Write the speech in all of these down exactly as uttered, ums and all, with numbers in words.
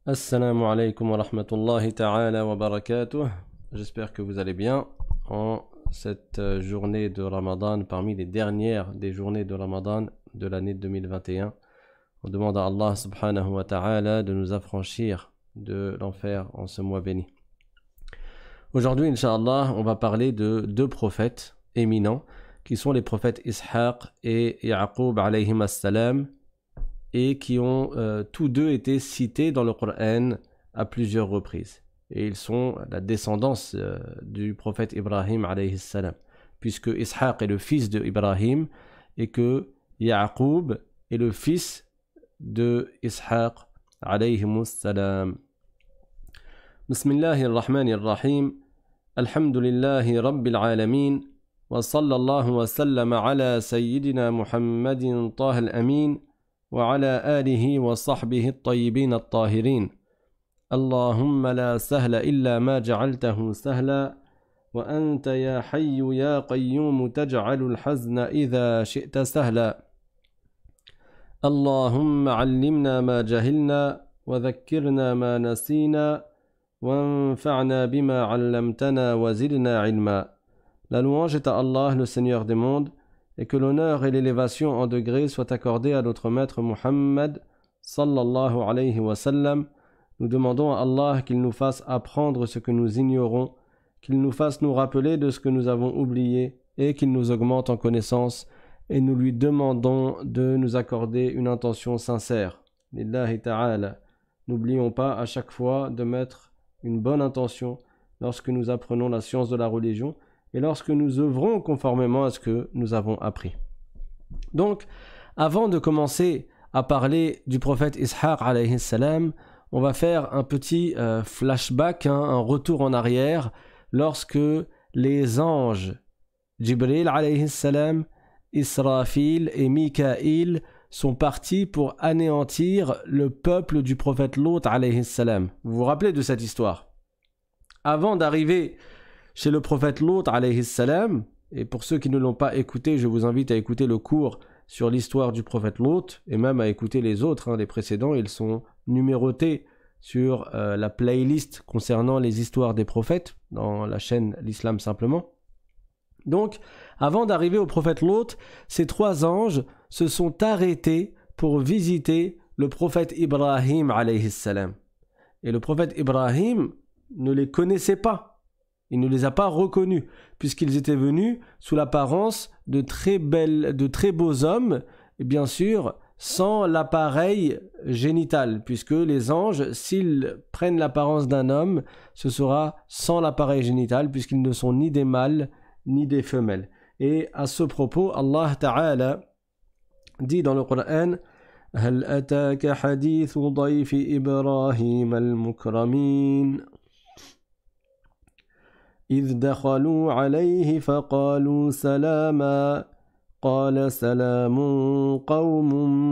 Assalamu alaikum wa rahmatullahi ta'ala wa barakatuh. J'espère que vous allez bien en cette journée de Ramadan, parmi les dernières des journées de Ramadan de l'année deux mille vingt et un. On demande à Allah subhanahu wa ta'ala de nous affranchir de l'enfer en ce mois béni. Aujourd'hui, Inch'Allah, on va parler de deux prophètes éminents qui sont les prophètes Ishaq et Ya'qub alayhim as-salam, et qui ont euh, tous deux été cités dans le Coran à plusieurs reprises. Et ils sont la descendance euh, du prophète Ibrahim alayhi salam, puisque Ishaq est le fils de Ibrahim et que Ya'qub est le fils de Ishaq alayhi salam. Bismillahir Rahmanir Rahim. Alhamdulillahi Rabbil Alamin. Wa sallallahu wa sallama ala Sayyidina Muhammadin Taha al-Amin. وعلى آله وصحبه الطيبين الطاهرين اللهم لا سهل إلا ما جعلته سهلا وأنت يا حي يا قيوم تجعل الحزن إذا شئت سهلا اللهم علمنا ما جهلنا وذكرنا ما نسينا وانفعنا بما علمتنا وزدنا علما. La louange est à Allah, le Seigneur des mondes, et que l'honneur et l'élévation en degrés soient accordés à notre maître Muhammad sallallahu alayhi wa sallam. Nous demandons à Allah qu'il nous fasse apprendre ce que nous ignorons, qu'il nous fasse nous rappeler de ce que nous avons oublié et qu'il nous augmente en connaissance, et nous lui demandons de nous accorder une intention sincère. Lillahi ta'ala. N'oublions pas à chaque fois de mettre une bonne intention lorsque nous apprenons la science de la religion et lorsque nous œuvrons conformément à ce que nous avons appris. Donc, avant de commencer à parler du prophète Ishaq alayhi salam, on va faire un petit euh, flashback, hein, un retour en arrière, lorsque les anges Jibril alayhi salam, Israfil et Mikaïl sont partis pour anéantir le peuple du prophète Lot alayhi salam. Vous vous rappelez de cette histoire? Avant d'arriver chez le prophète Lot alayhi salam, et pour ceux qui ne l'ont pas écouté, je vous invite à écouter le cours sur l'histoire du prophète Lot, et même à écouter les autres, hein, les précédents, ils sont numérotés sur euh, la playlist concernant les histoires des prophètes, dans la chaîne L'Islam Simplement. Donc, avant d'arriver au prophète Lot, ces trois anges se sont arrêtés pour visiter le prophète Ibrahim alayhi salam. Et le prophète Ibrahim ne les connaissait pas. Il ne les a pas reconnus, puisqu'ils étaient venus sous l'apparence de très belles, de très beaux hommes, et bien sûr sans l'appareil génital, puisque les anges, s'ils prennent l'apparence d'un homme, ce sera sans l'appareil génital, puisqu'ils ne sont ni des mâles ni des femelles. Et à ce propos, Allah Ta'ala dit dans le Coran: هل أتاك حديث ضيف إبراهيم المكرمين إذ دخلوا عليه فقالوا سلاما قال سلام قوم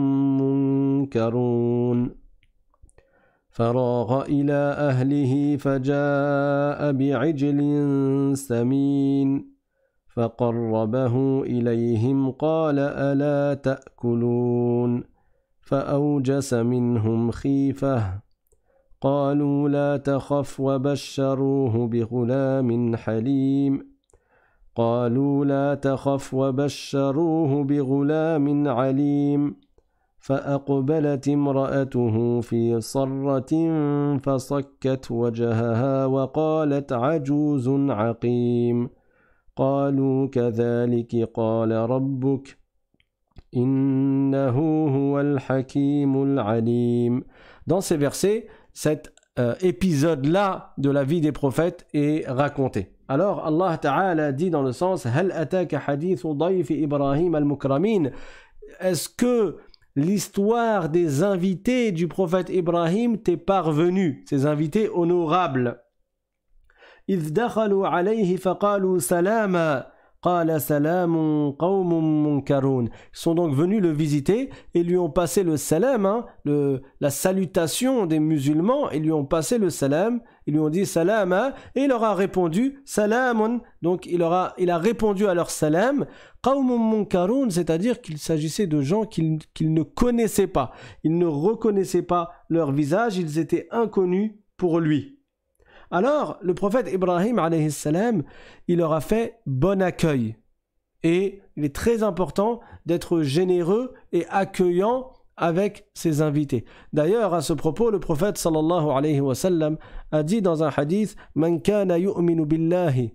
منكرون فراغ إلى أهله فجاء بعجل سمين فقربه إليهم قال ألا تأكلون فأوجس منهم خيفة قالوا لا تخف وبشروه بغلام حليم قالوا لا تخف وبشروه بغلام عليم فأقبلت امرأته في صرة فصكت وجهها وقالت عجوز عقيم قالوا كذلك قال ربك إنه هو الحكيم العليم. Dans ces versets, cet euh, épisode-là de la vie des prophètes est raconté. Alors Allah Ta'ala dit dans le sens: Hal ataka hadithu dayfi Ibrahim al-mukramin. Est-ce que l'histoire des invités du prophète Ibrahim t'est parvenue, ces invités honorables? إذ دخلوا عليه فقالوا سلاما قال سلام قوم منكرون. Ils sont donc venus le visiter et lui ont passé le salam, hein, le, la salutation des musulmans, et lui ont passé le salam, ils lui ont dit salama, et il leur a répondu salamun. Donc il, aura, il a répondu à leur salam, qawmun munkarun, c'est-à-dire qu'il s'agissait de gens qu'il, qu'il ne connaissait pas. Ils ne reconnaissaient pas leur visage, ils étaient inconnus pour lui. Alors, le prophète Ibrahim, alayhi salam, il leur a fait bon accueil. Et il est très important d'être généreux et accueillant avec ses invités. D'ailleurs, à ce propos, le prophète sallallahu alayhi wa sallam a dit dans un hadith « Man kana yu'minu billahi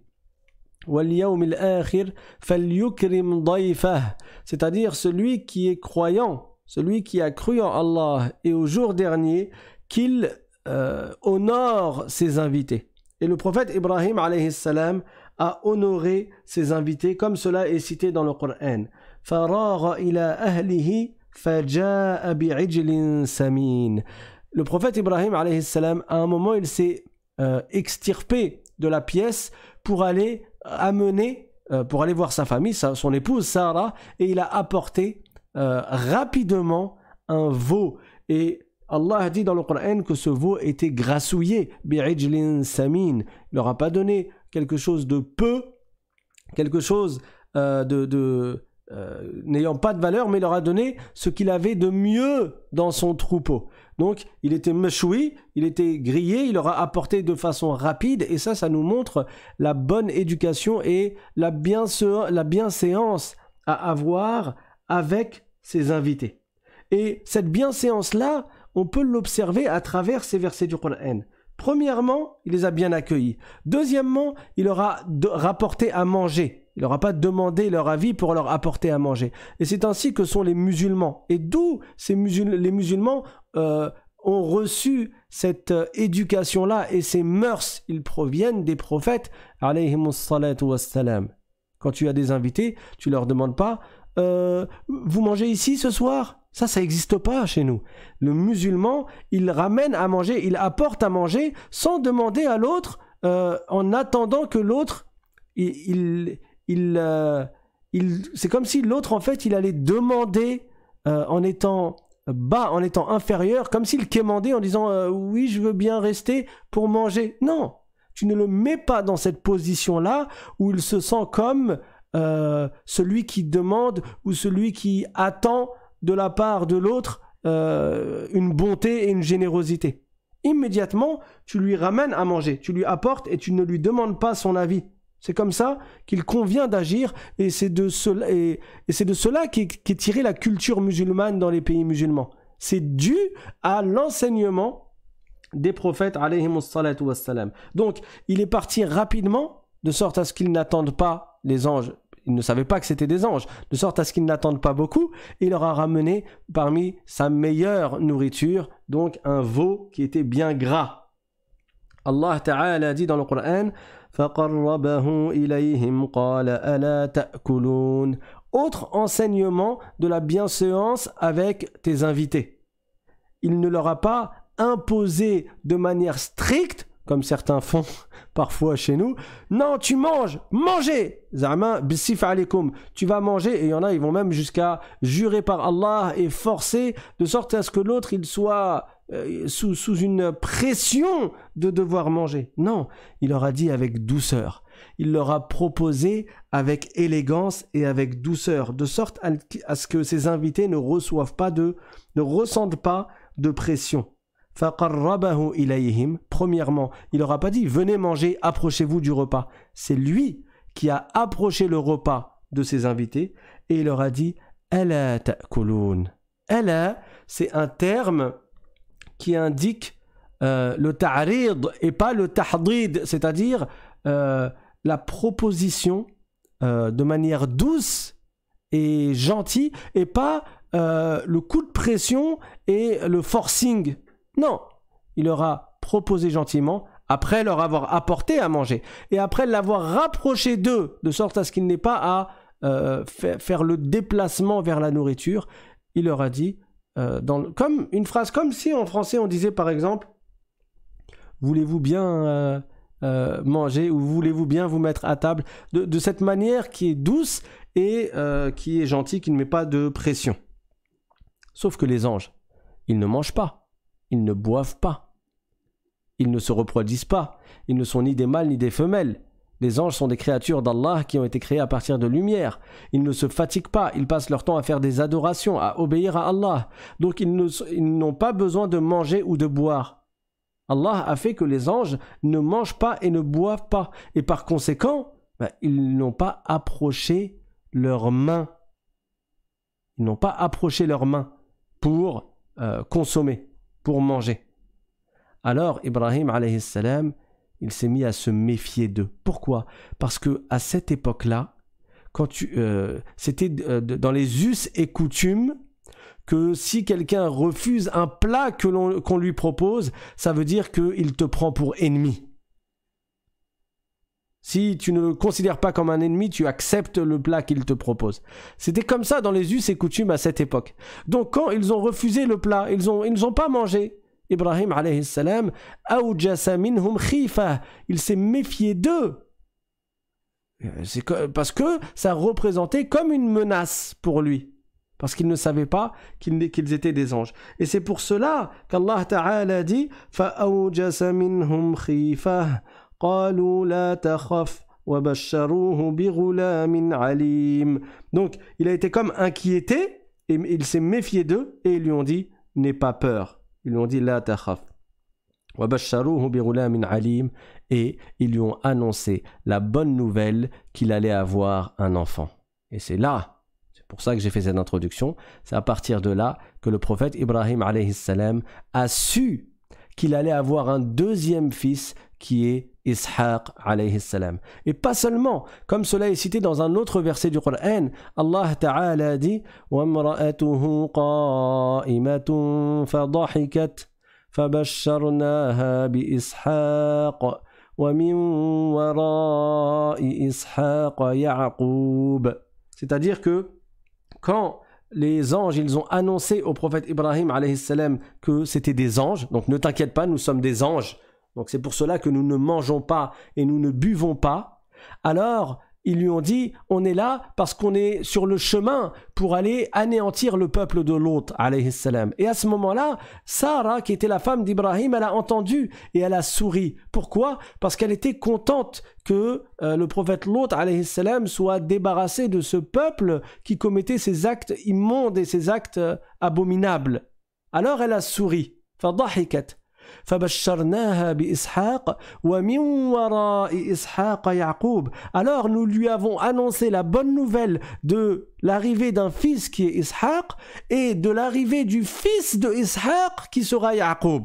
wal yawmil akhir falyukrim dayfah » c'est-à-dire celui qui est croyant, celui qui a cru en Allah et au jour dernier, qu'il Euh, honore ses invités. Et le prophète Ibrahim alayhi salam a honoré ses invités comme cela est cité dans le Coran. فَرَاغَ إِلَى أَهْلِهِ فَجَاءَ بِعِجْلٍ سَمِينٍ. Le prophète Ibrahim alayhi salam, à un moment, il s'est euh, extirpé de la pièce pour aller amener, euh, pour aller voir sa famille, sa, son épouse Sarah, et il a apporté euh, rapidement un veau. Et Allah dit dans le Coran que ce veau était grassouillé, bi'ijlin samin. Il leur a pas donné quelque chose de peu, quelque chose euh, de, de euh, n'ayant pas de valeur, mais il leur a donné ce qu'il avait de mieux dans son troupeau. Donc, il était mechoui, il était grillé, il leur a apporté de façon rapide, et ça, ça nous montre la bonne éducation et la, biense- la bienséance à avoir avec ses invités. Et cette bienséance-là, on peut l'observer à travers ces versets du Coran. Premièrement, il les a bien accueillis. Deuxièmement, il leur a de- rapporté à manger. Il leur a pas demandé leur avis pour leur apporter à manger. Et c'est ainsi que sont les musulmans. Et d'où ces musul- les musulmans euh, ont reçu cette euh, éducation-là et ces mœurs. Ils proviennent des prophètes, alayhimus salatu wassalam. Quand tu as des invités, tu leur demandes pas euh, « Vous mangez ici ce soir ?» Ça, ça n'existe pas chez nous. Le musulman, il ramène à manger, il apporte à manger sans demander à l'autre, euh, en attendant que l'autre, il, il, il, euh, il c'est comme si l'autre, en fait, il allait demander euh, en étant bas, en étant inférieur, comme s'il quémandait en disant euh, « Oui, je veux bien rester pour manger. » Non, tu ne le mets pas dans cette position-là où il se sent comme euh, celui qui demande ou celui qui attend de la part de l'autre euh, une bonté et une générosité. Immédiatement, tu lui ramènes à manger, tu lui apportes et tu ne lui demandes pas son avis. C'est comme ça qu'il convient d'agir et c'est de cela, et, et c'est de cela qu'est, qu'est tirée la culture musulmane dans les pays musulmans. C'est dû à l'enseignement des prophètes alayhimus salatu wassalam. Donc, il est parti rapidement de sorte à ce qu'ils n'attendent pas les anges. Ils ne savaient pas que c'était des anges, de sorte à ce qu'ils n'attendent pas beaucoup. Et il leur a ramené parmi sa meilleure nourriture, donc un veau qui était bien gras. Allah Ta'ala dit dans le Coran فَقَرَّبَهُ إِلَيْهِمْ قَالَ أَلَا تَأْكُلُونَ. Autre enseignement de la bienséance avec tes invités. Il ne leur a pas imposé de manière stricte, comme certains font parfois chez nous. Non, tu manges, mangez. Zama bisif alaykoum. Tu vas manger, et il y en a, ils vont même jusqu'à jurer par Allah et forcer de sorte à ce que l'autre il soit euh, sous, sous une pression de devoir manger. Non, il leur a dit avec douceur. Il leur a proposé avec élégance et avec douceur, de sorte à, à ce que ces invités ne reçoivent pas de, ne ressentent pas de pression. فَقَرَّبَهُ إِلَيْهِمْ. Premièrement, il leur a pas dit venez manger, approchez-vous du repas. C'est lui qui a approché le repas de ses invités et il leur a dit أَلَا تَأْكُلُونَ. أَلَا, c'est un terme qui indique euh, le ta'rid et pas le tahdid, c'est-à-dire euh, la proposition euh, de manière douce et gentille et pas euh, le coup de pression et le forcing. Non, il leur a proposé gentiment, après leur avoir apporté à manger, et après l'avoir rapproché d'eux, de sorte à ce qu'il n'ait pas à euh, faire, faire le déplacement vers la nourriture, il leur a dit, euh, dans le, comme une phrase, comme si en français on disait par exemple, voulez-vous bien euh, euh, manger ou voulez-vous bien vous mettre à table de, de cette manière qui est douce et euh, qui est gentille, qui ne met pas de pression. Sauf que les anges, ils ne mangent pas, ils ne boivent pas, ils ne se reproduisent pas, ils ne sont ni des mâles ni des femelles. Les anges sont des créatures d'Allah qui ont été créées à partir de lumière. Ils ne se fatiguent pas, ils passent leur temps à faire des adorations, à obéir à Allah. Donc ils, ne, ils n'ont pas besoin de manger ou de boire. Allah a fait que les anges ne mangent pas et ne boivent pas. Et par conséquent, ben, ils n'ont pas approché leurs mains. Ils n'ont pas approché leurs mains pour euh, consommer, pour manger. Alors Ibrahim alayhi salam, il s'est mis à se méfier d'eux. Pourquoi ? Parce que à cette époque-là, quand tu, euh, c'était euh, dans les us et coutumes que si quelqu'un refuse un plat que l'on, qu'on lui propose, ça veut dire qu'il te prend pour ennemi. Si tu ne le considères pas comme un ennemi, tu acceptes le plat qu'il te propose. C'était comme ça dans les us et coutumes à cette époque. Donc quand ils ont refusé le plat, ils ont, ils n'ont pas mangé. Ibrahim alayhi salam, awjasa minhum khifa, il s'est méfié d'eux. C'est parce que ça représentait comme une menace pour lui. Parce qu'il ne savait pas qu'ils, qu'ils étaient des anges. Et c'est pour cela qu'Allah Ta'ala dit فَأَوْجَسَ مِنْهُمْ خِيفَةً قَالُوا لَا تَخَفْ وَبَشَّرُوهُ بِغُلَامٍ عَلِيمٍ. Donc, il a été comme inquiété, et il s'est méfié d'eux, et ils lui ont dit « N'aie pas peur ». Ils lui ont dit « La takhaf ». وَبَشَّرُوهُ بِغُلَامٍ عَلِيمٍ. Et ils lui ont annoncé la bonne nouvelle qu'il allait avoir un enfant. Et c'est là, c'est pour ça que j'ai fait cette introduction, c'est à partir de là que le prophète Ibrahim alayhi salam a su qu'il allait avoir un deuxième fils qui est Ishaq alayhi salam. Et pas seulement, comme cela est cité dans un autre verset du Coran, Allah Ta'ala dit وَامْرَأَتُهُ قَائِمَةٌ فَضَحِكَتْ فَبَشَّرْنَاهَا بِإِسْحَاقَ وَمِنْ وَرَاءِ إِسْحَاقَ يَعْقُوبَ. C'est-à-dire que quand les anges, ils ont annoncé au prophète Ibrahim alayhi salam que c'était des anges, donc ne t'inquiète pas, nous sommes des anges, donc c'est pour cela que nous ne mangeons pas et nous ne buvons pas. Alors ils lui ont dit, on est là parce qu'on est sur le chemin pour aller anéantir le peuple de Lot alayhi salam. Et à ce moment-là, Sarah, qui était la femme d'Ibrahim, elle a entendu et elle a souri. Pourquoi ? Parce qu'elle était contente que euh, le prophète Lot alayhi salam soit débarrassé de ce peuple qui commettait ces actes immondes et ces actes euh, abominables. Alors elle a souri. فضحكت فبشرناها بإسحاق ومن وراء إسحاق يعقوب. Alors nous lui avons annoncé la bonne nouvelle de l'arrivée d'un fils qui est Ishaq et de l'arrivée du fils de Ishaq qui sera Yaqub.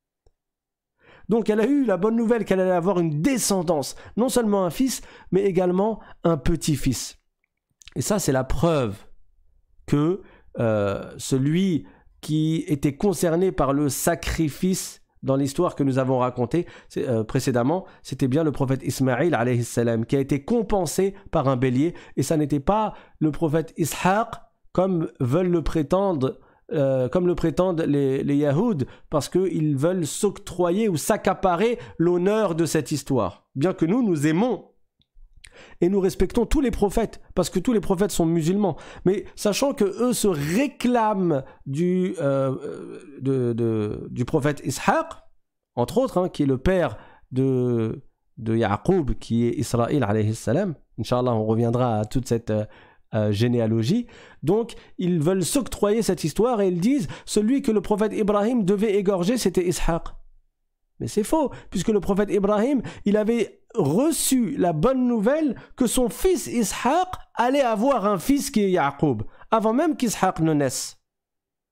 Donc elle a eu la bonne nouvelle qu'elle allait avoir une descendance, non seulement un fils, mais également un petit-fils. Et ça, c'est la preuve que euh, celui qui était concerné par le sacrifice dans l'histoire que nous avons racontée euh, précédemment, c'était bien le prophète Ismaïl alayhi salam qui a été compensé par un bélier, et ça n'était pas le prophète Ishaq comme veulent le prétendre euh, comme le prétendent les, les Yahouds, parce qu'ils veulent s'octroyer ou s'accaparer l'honneur de cette histoire. Bien que nous, nous aimons et nous respectons tous les prophètes, parce que tous les prophètes sont musulmans. Mais sachant que eux se réclament du, euh, de, de, du prophète Ishaq, entre autres, hein, qui est le père de, de Yaqub, qui est Israël alayhi salam. Inch'Allah, on reviendra à toute cette euh, généalogie. Donc, ils veulent s'octroyer cette histoire et ils disent celui que le prophète Ibrahim devait égorger, c'était Ishaq. Mais c'est faux, puisque le prophète Ibrahim, il avait reçu la bonne nouvelle que son fils Ishaq allait avoir un fils qui est Yaqub, avant même qu'Ishaq ne naisse. D'accord ?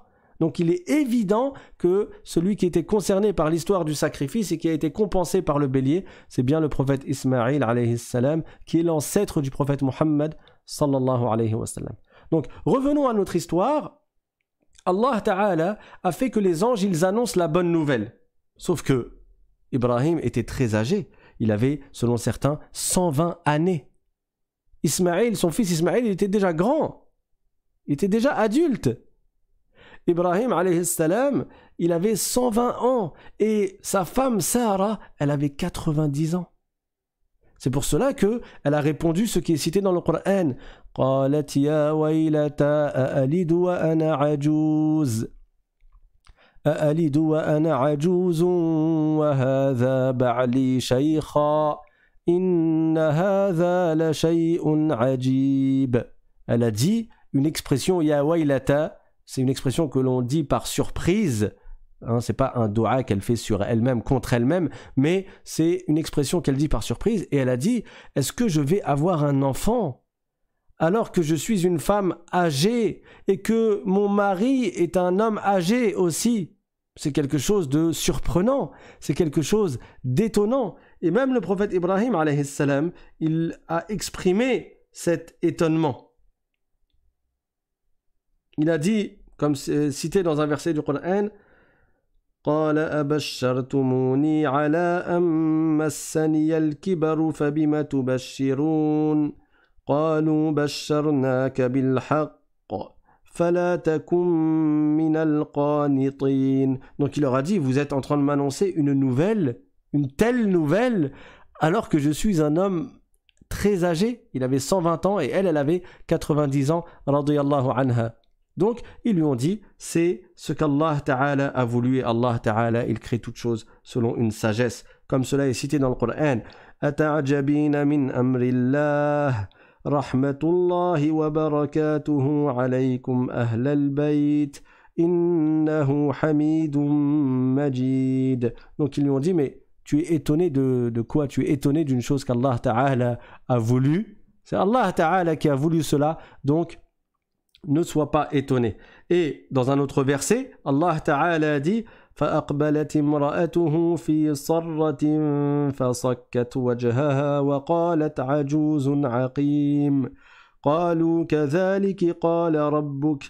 Donc il est évident que celui qui était concerné par l'histoire du sacrifice et qui a été compensé par le bélier, c'est bien le prophète Ismaïl alayhi salam, qui est l'ancêtre du prophète Muhammad sallallahu alayhi wa sallam. Donc revenons à notre histoire. Allah Ta'ala a fait que les anges, ils annoncent la bonne nouvelle. Sauf que Ibrahim était très âgé. Il avait, selon certains, cent vingt années. Ismaïl, son fils Ismaïl, il était déjà grand. Il était déjà adulte. Ibrahim alayhi salam, il avait cent vingt ans et sa femme Sarah, elle avait quatre-vingt-dix ans. C'est pour cela que elle a répondu ce qui est cité dans le Coran. قالت يا ويلتى أألد وأنا عجوز أألد وأنا عجوز وهذا بعلي شيخا إن هذا لشيء عجيب. Elle a dit une expression ya waylata, c'est une expression que l'on dit par surprise. Hein, c'est pas un doua qu'elle fait sur elle-même, contre elle-même, mais c'est une expression qu'elle dit par surprise. Et elle a dit, est-ce que je vais avoir un enfant alors que je suis une femme âgée et que mon mari est un homme âgé aussi? C'est quelque chose de surprenant, c'est quelque chose d'étonnant. Et même le prophète Ibrahim alayhi salam, il a exprimé cet étonnement. Il a dit, comme cité dans un verset du Coran, قال أبشرتموني على أن مسني الكبر فبم تبشرون قالوا بشرناك بالحق فلا تكن من القانطين. Donc il leur a dit, vous êtes en train de m'annoncer une nouvelle, une telle nouvelle, alors que je suis un homme très âgé. Il avait cent vingt ans et elle, elle avait quatre-vingt-dix ans, radiyallahu anha. Donc, ils lui ont dit, c'est ce qu'Allah Ta'ala a voulu, et Allah Ta'ala, il crée toutes choses selon une sagesse. Comme cela est cité dans le Coran. أَتَعْجَبِينَ مِنْ أَمْرِ اللَّهِ رَحْمَةُ اللَّهِ وَبَرَكَاتُهُ عَلَيْكُمْ أَهْلَ الْبَيْتِ إِنَّهُ حَمِيدٌ مَجِيدٌ. Donc, ils lui ont dit, mais tu es étonné de, de quoi? Tu es étonné d'une chose qu'Allah Ta'ala a voulu. C'est Allah Ta'ala qui a voulu cela, donc ne sois pas étonné. Et dans un autre verset, Allah Ta'ala dit فَأَقْبَلَتِ امْرَأَتُهُ فِي صَرَّةٍ فَصَكَّتْ وَجْهَهَا وَقَالَتْ عَجُوزٌ عَقِيمٌ قَالُوا كَذَلِكِ قَالَ رَبُّكَ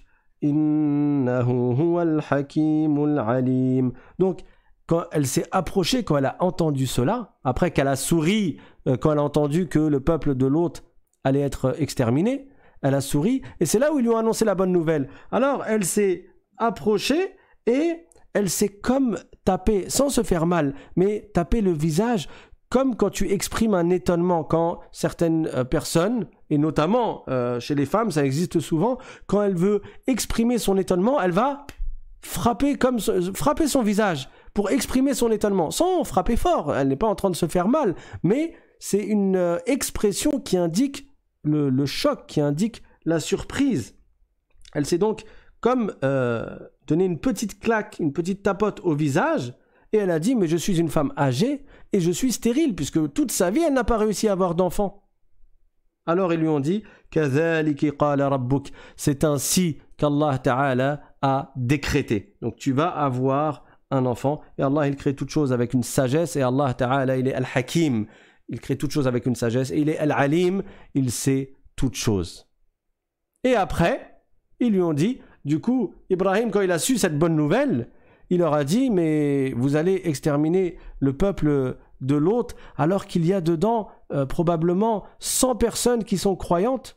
إِنَّهُ هُوَ الْحَكِيمُ الْعَلِيمُ. Donc, quand elle s'est approchée, quand elle a entendu cela, après qu'elle a souri, quand elle a entendu que le peuple de Lot allait être exterminé, elle a souri, et c'est là où ils lui ont annoncé la bonne nouvelle. Alors, elle s'est approchée et elle s'est comme tapée, sans se faire mal, mais taper le visage, comme quand tu exprimes un étonnement, quand certaines euh, personnes, et notamment euh, chez les femmes, ça existe souvent, quand elle veut exprimer son étonnement, elle va frapper, comme, frapper son visage pour exprimer son étonnement, sans frapper fort. Elle n'est pas en train de se faire mal, mais c'est une euh, expression qui indique Le, le choc, qui indique la surprise. Elle s'est donc comme euh, donné une petite claque, une petite tapote au visage, et elle a dit, mais je suis une femme âgée et je suis stérile, puisque toute sa vie, elle n'a pas réussi à avoir d'enfant. Alors ils lui ont dit, كَذَلِكِ قَالَ رَبُّكَ. C'est ainsi qu'Allah Ta'ala a décrété. Donc tu vas avoir un enfant, et Allah, il crée toutes choses avec une sagesse, et Allah Ta'ala, il est Al-Hakim. Il crée toutes choses avec une sagesse, et il est Al-Alim, il sait toutes choses. Et après, ils lui ont dit, du coup, Ibrahim, quand il a su cette bonne nouvelle, il leur a dit, mais vous allez exterminer le peuple de Lot, alors qu'il y a dedans euh, probablement cent personnes qui sont croyantes.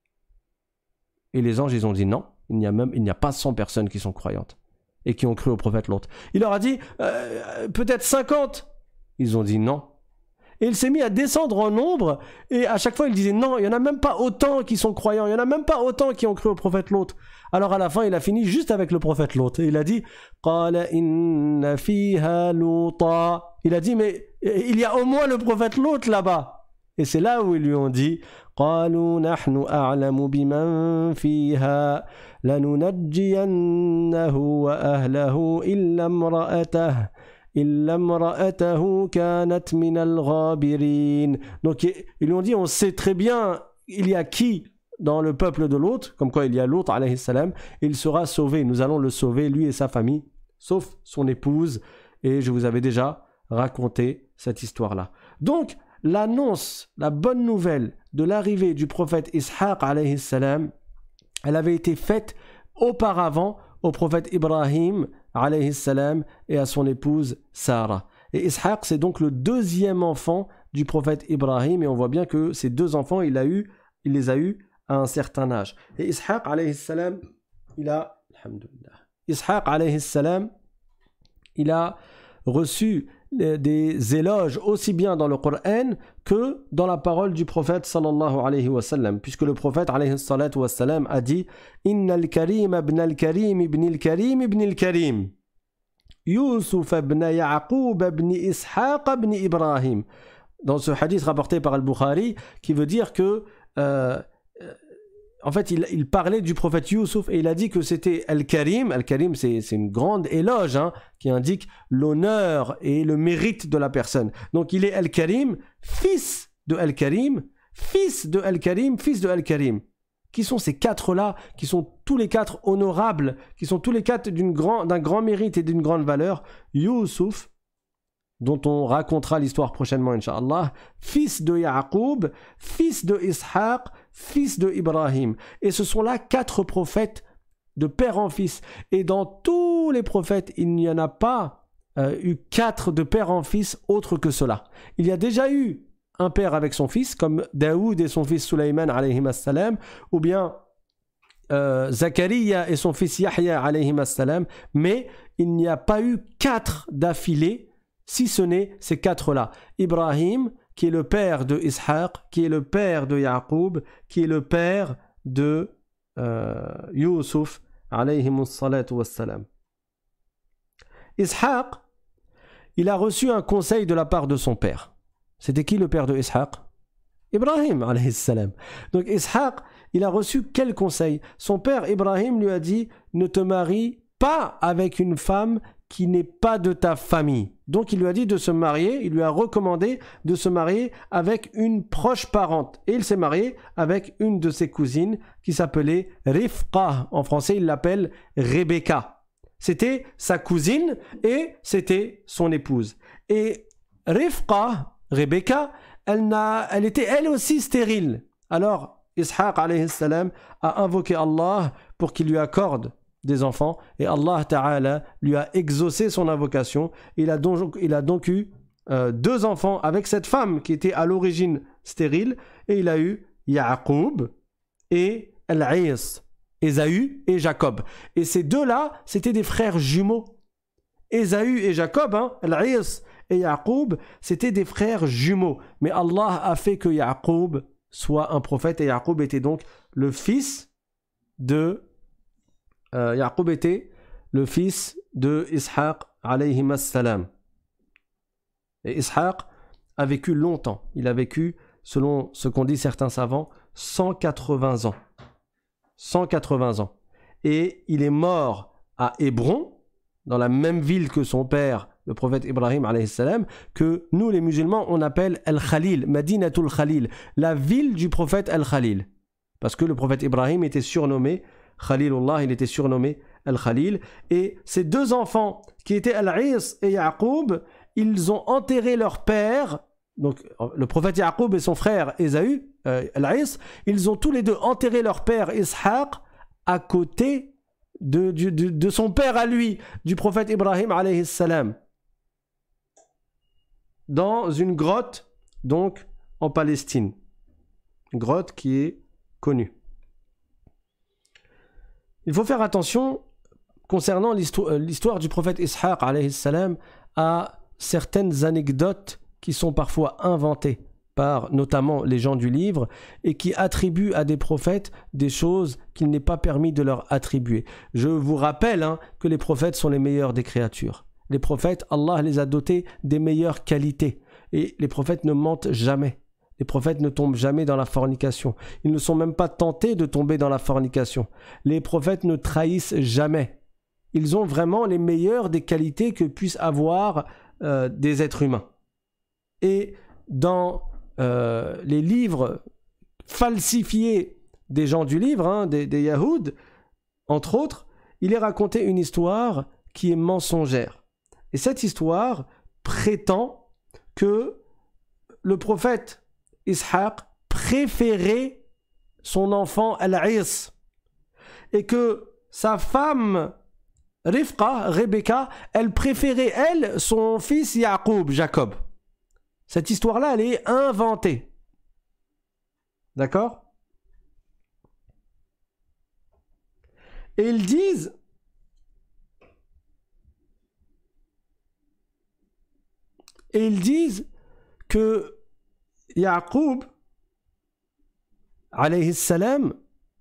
Et les anges, ils ont dit non, il n'y a même, il n'y a pas cent personnes qui sont croyantes et qui ont cru au prophète Lot. Il leur a dit, euh, peut-être cinquante. Ils ont dit non. Et il s'est mis à descendre en nombre, et à chaque fois il disait non, il n'y en a même pas autant qui sont croyants, il n'y en a même pas autant qui ont cru au prophète Lot. Alors à la fin il a fini juste avec le prophète Lot, et il a dit قَالَ إِنَّ فِيهَا لُوطًا. Il a dit, mais il y a au moins le prophète Lot là-bas. Et c'est là où ils lui ont dit قَالُوا نَحْنُ أَعْلَمُ بِمَنْ فِيهَا لَنُنَجِّيَنَّهُ وَأَهْلَهُ إِلَّا امْرَأَتَهُ إِلَّا امْرَأَتَهُ كَانَتْ مِنَ الْغَابِرِينَ. Donc ils lui ont dit, on sait très bien il y a qui dans le peuple de Lot, comme quoi il y a Lot alayhi salam, il sera sauvé, nous allons le sauver, lui et sa famille, sauf son épouse, et je vous avais déjà raconté cette histoire-là. Donc l'annonce, la bonne nouvelle de l'arrivée du prophète Ishaq alayhi salam, elle avait été faite auparavant au prophète Ibrahim alayhi salam et à son épouse Sarah. Et Ishaq, c'est donc le deuxième enfant du prophète Ibrahim, et on voit bien que ces deux enfants, il, a eu, il les a eus à un certain âge. Et Ishaq alayhi salam, il a, alhamdulillah, Ishaq alayhi salam, il a reçu des éloges aussi bien dans le Coran que dans la parole du prophète sallallahu alayhi wa sallam, puisque le prophète alayhi salatu wa sallam a dit Inna al-karim ibn al-karim ibn al-karim ibn al-karim Yusuf ibn Ya'qub ibn Ishaq ibn Ibrahim, dans ce hadith rapporté par Al-Bukhari, qui veut dire que euh, en fait, il, il parlait du prophète Youssouf et il a dit que c'était Al-Karim. Al-Karim, c'est, c'est une grande éloge hein, qui indique l'honneur et le mérite de la personne. Donc, il est Al-Karim, fils de Al-Karim, fils de Al-Karim, fils de Al-Karim. Qui sont ces quatre-là, qui sont tous les quatre honorables, qui sont tous les quatre d'une grand, d'un grand mérite et d'une grande valeur. Youssouf, dont on racontera l'histoire prochainement, Inch'Allah, fils de Ya'qub, fils de Ishaq, fils de Ibrahim. Et ce sont là quatre prophètes de père en fils. Et dans tous les prophètes, il n'y en a pas euh, eu quatre de père en fils autres que cela. Il y a déjà eu un père avec son fils, comme Daoud et son fils Sulayman, alayhi assalam, ou bien euh, Zachariah et son fils Yahya, alayhi assalam, mais il n'y a pas eu quatre d'affilée, si ce n'est ces quatre-là. Ibrahim, qui est le père de Ishaq, qui est le père de Ya'qub, qui est le père de euh, Youssouf, alayhi salatu wassalam. Ishaq, il a reçu un conseil de la part de son père. C'était qui le père de Ishaq? Ibrahim, alayhi salam. Donc Ishaq, il a reçu quel conseil? Son père Ibrahim lui a dit, ne te marie pas avec une femme qui n'est pas de ta famille. Donc il lui a dit de se marier, il lui a recommandé de se marier avec une proche parente. Et il s'est marié avec une de ses cousines qui s'appelait Rifqa. En français, il l'appelle Rebecca. C'était sa cousine et c'était son épouse. Et Rifqa, Rebecca, elle, n'a, elle était elle aussi stérile. Alors Ishaq alayhi salam a invoqué Allah pour qu'il lui accorde des enfants, et Allah Ta'ala lui a exaucé son invocation. Il a donc, il a donc eu euh, deux enfants avec cette femme qui était à l'origine stérile, et il a eu Ya'qub et Al-Is, Ésaü et Jacob. Et ces deux-là, c'était des frères jumeaux. Ésaü et Jacob, hein, Al-Is et Ya'qub, c'était des frères jumeaux. Mais Allah a fait que Ya'qub soit un prophète, et Ya'qub était donc le fils de Euh, Ya'qub était le fils de Ishaq alayhi salam. Et Ishaq a vécu longtemps. Il a vécu, selon ce qu'ont dit certains savants, cent quatre-vingts ans. cent quatre-vingts ans. Et il est mort à Hébron, dans la même ville que son père, le prophète Ibrahim alayhi salam, que nous les musulmans on appelle Al-Khalil, Madinatul Khalil, la ville du prophète Al-Khalil. Parce que le prophète Ibrahim était surnommé Khalilullah, il était surnommé Al-Khalil. Et ces deux enfants, qui étaient Al-Is et Ya'qub, ils ont enterré leur père, donc le prophète Ya'qub et son frère Ésaü, euh, Al-Is, ils ont tous les deux enterré leur père Ishaq à côté de, de, de, de son père à lui, du prophète Ibrahim alayhi salam, dans une grotte, donc en Palestine. Une grotte qui est connue. Il faut faire attention concernant l'histoire, l'histoire du prophète Ishaq alayhi salam à certaines anecdotes qui sont parfois inventées par notamment les gens du livre et qui attribuent à des prophètes des choses qu'il n'est pas permis de leur attribuer. Je vous rappelle hein, que les prophètes sont les meilleurs des créatures. Les prophètes, Allah les a dotés des meilleures qualités et les prophètes ne mentent jamais. Les prophètes ne tombent jamais dans la fornication. Ils ne sont même pas tentés de tomber dans la fornication. Les prophètes ne trahissent jamais. Ils ont vraiment les meilleures des qualités que puissent avoir euh, des êtres humains. Et dans euh, les livres falsifiés des gens du livre, hein, des, des Yahouds, entre autres, il est raconté une histoire qui est mensongère. Et cette histoire prétend que le prophète Ishaq préférait son enfant Al-Is et que sa femme Rifqa, Rebecca, elle préférait elle son fils Ya'qub, Jacob. Cette histoire-là, elle est inventée. D'accord? Et ils disent Et ils disent que Yaqub, alayhi salam,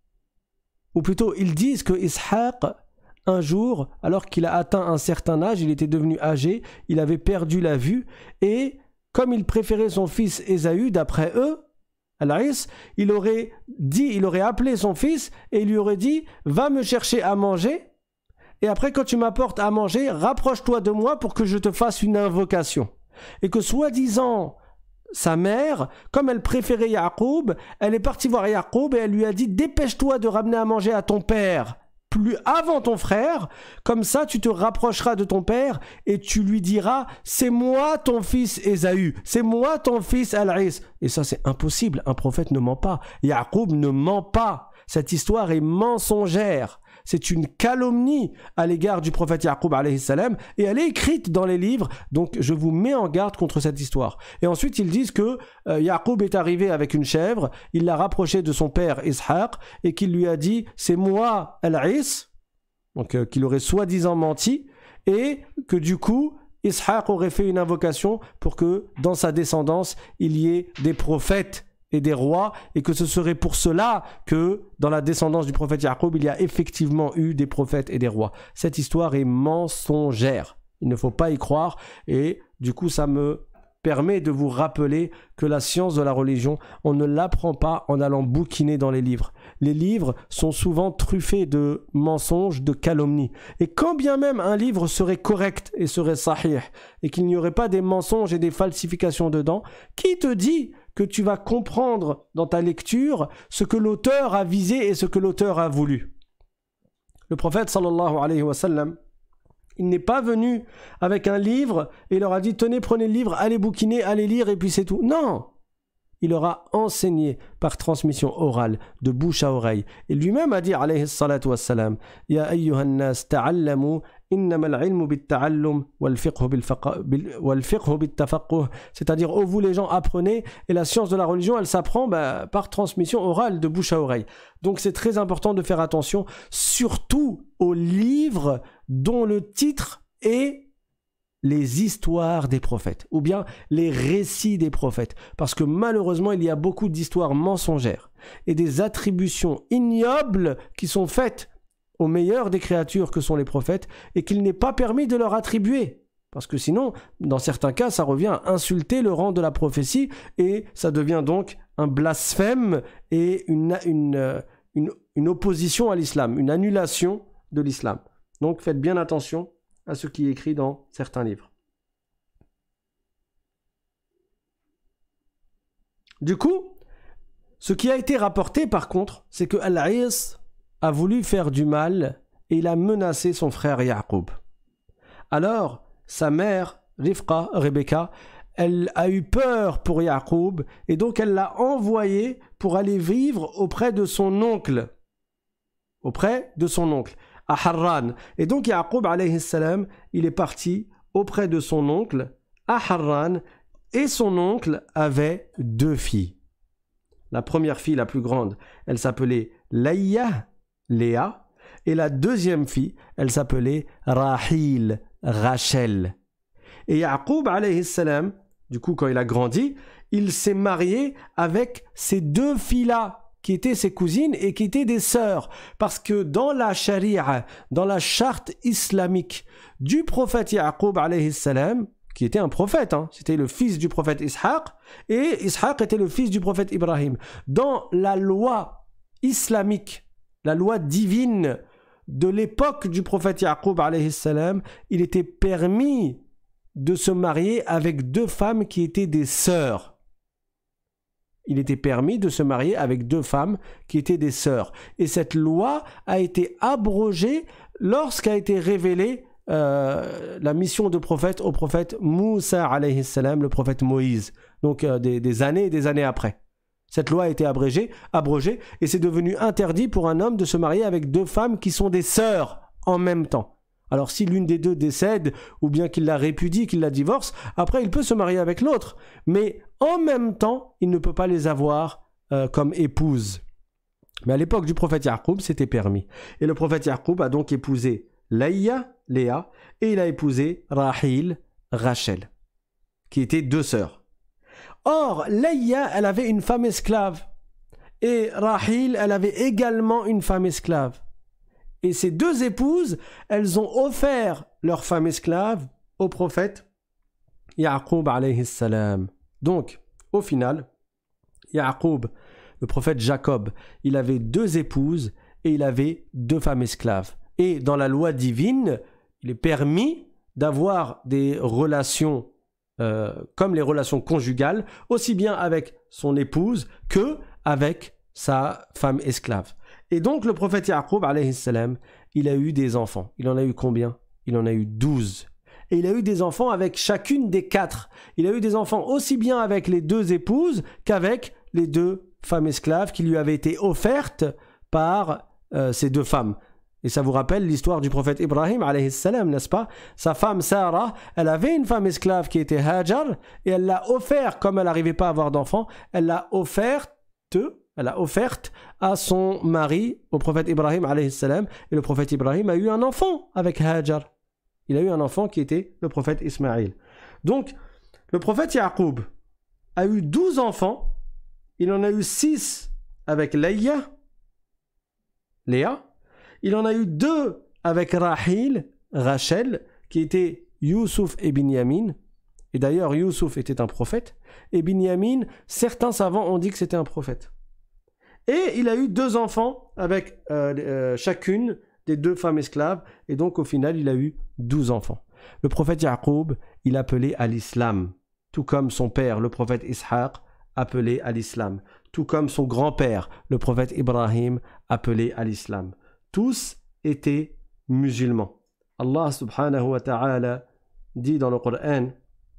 ou plutôt ils disent que Ishaq, un jour, alors qu'il a atteint un certain âge, il était devenu âgé, il avait perdu la vue, et comme il préférait son fils Ésaü, d'après eux, Al-Is, il aurait dit, il aurait appelé son fils et il lui aurait dit « Va me chercher à manger, et après quand tu m'apportes à manger, rapproche-toi de moi pour que je te fasse une invocation. » Et que soi-disant, sa mère, comme elle préférait Yaqub, elle est partie voir Yaqub et elle lui a dit « Dépêche-toi de ramener à manger à ton père, plus avant ton frère, comme ça tu te rapprocheras de ton père et tu lui diras « C'est moi ton fils Ésaü, c'est moi ton fils Al-Is. » Et ça c'est impossible, un prophète ne ment pas. Yaqub ne ment pas. Cette histoire est mensongère. C'est une calomnie à l'égard du prophète Yaqub alayhi salam et elle est écrite dans les livres, donc je vous mets en garde contre cette histoire. Et ensuite ils disent que euh, Yaqub est arrivé avec une chèvre, il l'a rapproché de son père Ishaq et qu'il lui a dit c'est moi Al-Is, donc euh, qu'il aurait soi-disant menti et que du coup Ishaq aurait fait une invocation pour que dans sa descendance il y ait des prophètes et des rois, et que ce serait pour cela que dans la descendance du prophète Yaqub, il y a effectivement eu des prophètes et des rois. Cette histoire est mensongère. Il ne faut pas y croire, et du coup ça me permet de vous rappeler que la science de la religion, on ne l'apprend pas en allant bouquiner dans les livres. Les livres sont souvent truffés de mensonges, de calomnies. Et quand bien même un livre serait correct et serait sahih, et qu'il n'y aurait pas des mensonges et des falsifications dedans, qui te dit que tu vas comprendre dans ta lecture ce que l'auteur a visé et ce que l'auteur a voulu? Le prophète sallallahu alayhi wa sallam, il n'est pas venu avec un livre et il leur a dit tenez, prenez le livre, allez bouquiner, allez lire et puis c'est tout. Non, il leur a enseigné par transmission orale, de bouche à oreille. Et lui-même a dit alayhi salatu wassalam ya ayyuhan nas ta'allamu innama al-ilmu bit-ta'allum wal-fiqhu bit-tafaqquh, c'est-à-dire ô vous les gens apprenez, et la science de la religion elle s'apprend bah, par transmission orale, de bouche à oreille. Donc c'est très important de faire attention surtout aux livres dont le titre est les histoires des prophètes, ou bien les récits des prophètes, parce que malheureusement il y a beaucoup d'histoires mensongères et des attributions ignobles qui sont faites aux meilleurs des créatures que sont les prophètes et qu'il n'est pas permis de leur attribuer, parce que sinon dans certains cas ça revient à insulter le rang de la prophétie et ça devient donc un blasphème et une, une, une, une opposition à l'islam, une annulation de l'islam. Donc faites bien attention à ce qui est écrit dans certains livres. Du coup, ce qui a été rapporté par contre, c'est que Al-Is a voulu faire du mal et il a menacé son frère Yaqub. Alors, sa mère, Rifqa, Rebecca, elle a eu peur pour Yaqub et donc elle l'a envoyé pour aller vivre auprès de son oncle. Auprès de son oncle. À Harran. Et donc Yaqub alayhi salam, il est parti auprès de son oncle à Harran et son oncle avait deux filles. La première fille, la plus grande, elle s'appelait Layya, Léa, et la deuxième fille, elle s'appelait Rahil, Rachel. Et Yaqub alayhi salam, du coup quand il a grandi, il s'est marié avec ces deux filles-là, qui étaient ses cousines et qui étaient des sœurs. Parce que dans la charia, dans la charte islamique du prophète Yaqub alayhi salam, qui était un prophète, hein, c'était le fils du prophète Ishaq, et Ishaq était le fils du prophète Ibrahim. Dans la loi islamique, la loi divine de l'époque du prophète Yaqub alayhi salam, il était permis de se marier avec deux femmes qui étaient des sœurs. Il était permis de se marier avec deux femmes qui étaient des sœurs. Et cette loi a été abrogée lorsqu'a été révélée euh, la mission de prophète au prophète Moussa alayhi salam, le prophète Moïse. Donc euh, des, des années et des années après. Cette loi a été abrégée, abrogée et c'est devenu interdit pour un homme de se marier avec deux femmes qui sont des sœurs en même temps. Alors si l'une des deux décède ou bien qu'il la répudie, qu'il la divorce, après il peut se marier avec l'autre. Mais en même temps, il ne peut pas les avoir euh, comme épouse. Mais à l'époque du prophète Yaqub, c'était permis. Et le prophète Yaqub a donc épousé Layya, Léa, et il a épousé Rahil, Rachel. qui étaient deux sœurs. Or, Leïa, elle avait une femme esclave. Et Rahil, elle avait également une femme esclave. Et ces deux épouses, elles ont offert leur femme esclave au prophète Ya'qub alayhi salam. Donc, au final, Ya'qub, le prophète Jacob, il avait deux épouses et il avait deux femmes esclaves. Et dans la loi divine, il est permis d'avoir des relations euh, comme les relations conjugales, aussi bien avec son épouse que avec sa femme esclave. Et donc le prophète Ya'qub alayhi salam, il a eu des enfants. Il en a eu combien? Il en a eu douze. Et il a eu des enfants avec chacune des quatre. Il a eu des enfants aussi bien avec les deux épouses qu'avec les deux femmes esclaves qui lui avaient été offertes par euh, ces deux femmes. Et ça vous rappelle l'histoire du prophète Ibrahim alayhi salam, n'est-ce pas? Sa femme Sarah, elle avait une femme esclave qui était Hajar et elle l'a offert, comme elle n'arrivait pas à avoir d'enfants, elle l'a offerte, elle a offerte à son mari, au prophète Ibrahim alayhi salam, et le prophète Ibrahim a eu un enfant avec Hajar. Il a eu un enfant qui était le prophète Ismaïl. Donc, le prophète Ya'qub a eu douze enfants. Il en a eu six avec Leïa, Léa. Il en a eu deux avec Rahil, Rachel, qui étaient Youssouf et Binyamin. Et d'ailleurs, Youssouf était un prophète. Et Binyamin, certains savants ont dit que c'était un prophète. Et il a eu deux enfants avec euh, euh, chacune des deux femmes esclaves. Et donc, au final, il a eu douze enfants. Le prophète Ya'qub, il appelait à l'islam. Tout comme son père, le prophète Ishaq, appelé à l'islam. Tout comme son grand-père, le prophète Ibrahim, appelé à l'islam. Tous étaient musulmans. Allah subhanahu wa ta'ala dit dans le Coran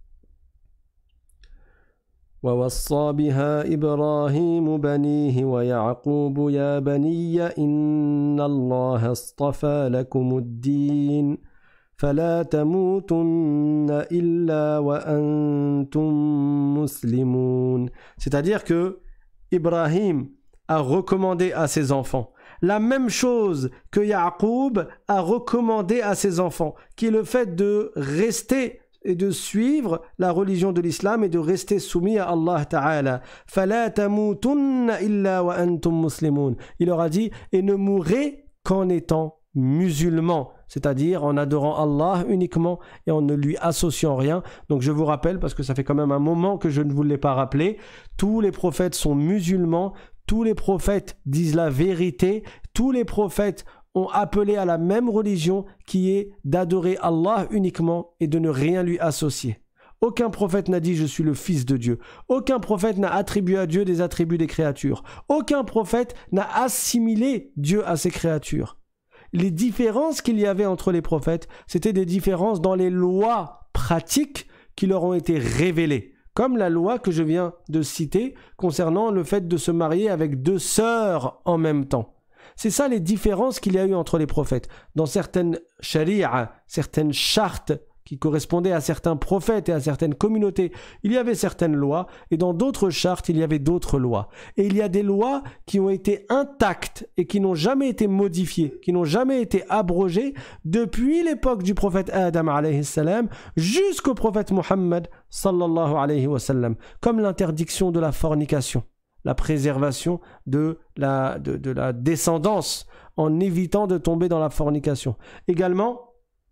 وَوَصَّى بِهَا إِبْرَاهِيمُ بَنِيهِ وَيَعْقُوبُ يَا بَنِيَّ إِنَّ اللَّهَ اصْطَفَى لَكُمُ الدِّينَ فَلَا تَمُوتُنَّ إِلَّا وَأَنْتُمْ مُسْلِمُونَ. C'est-à-dire que Ibrahim a recommandé à ses enfants la même chose que Ya'qub a recommandé à ses enfants, qui est le fait de rester et de suivre la religion de l'islam et de rester soumis à Allah Ta'ala. فَلَا تَمُوتُنَّ إِلَّا وَأَنْتُمْ مُسْلِمُونَ. Il leur a dit, et ne mourrez qu'en étant musulmans, c'est-à-dire en adorant Allah uniquement et en ne lui associant rien. Donc je vous rappelle, parce que ça fait quand même un moment que je ne vous l'ai pas rappelé, tous les prophètes sont musulmans. Tous les prophètes disent la vérité, tous les prophètes ont appelé à la même religion qui est d'adorer Allah uniquement et de ne rien lui associer. Aucun prophète n'a dit « je suis le fils de Dieu ». Aucun prophète n'a attribué à Dieu des attributs des créatures. Aucun prophète n'a assimilé Dieu à ses créatures. Les différences qu'il y avait entre les prophètes, c'était des différences dans les lois pratiques qui leur ont été révélées. Comme la loi que je viens de citer concernant le fait de se marier avec deux sœurs en même temps. C'est ça les différences qu'il y a eu entre les prophètes. Dans certaines sharia, certaines chartes qui correspondaient à certains prophètes et à certaines communautés, il y avait certaines lois, et dans d'autres chartes, il y avait d'autres lois. Et il y a des lois qui ont été intactes et qui n'ont jamais été modifiées, qui n'ont jamais été abrogées depuis l'époque du prophète Adam alayhi salam jusqu'au prophète Muhammad sallallahu alayhi wa sallam, comme l'interdiction de la fornication, la préservation de la, de, de la descendance en évitant de tomber dans la fornication. Également,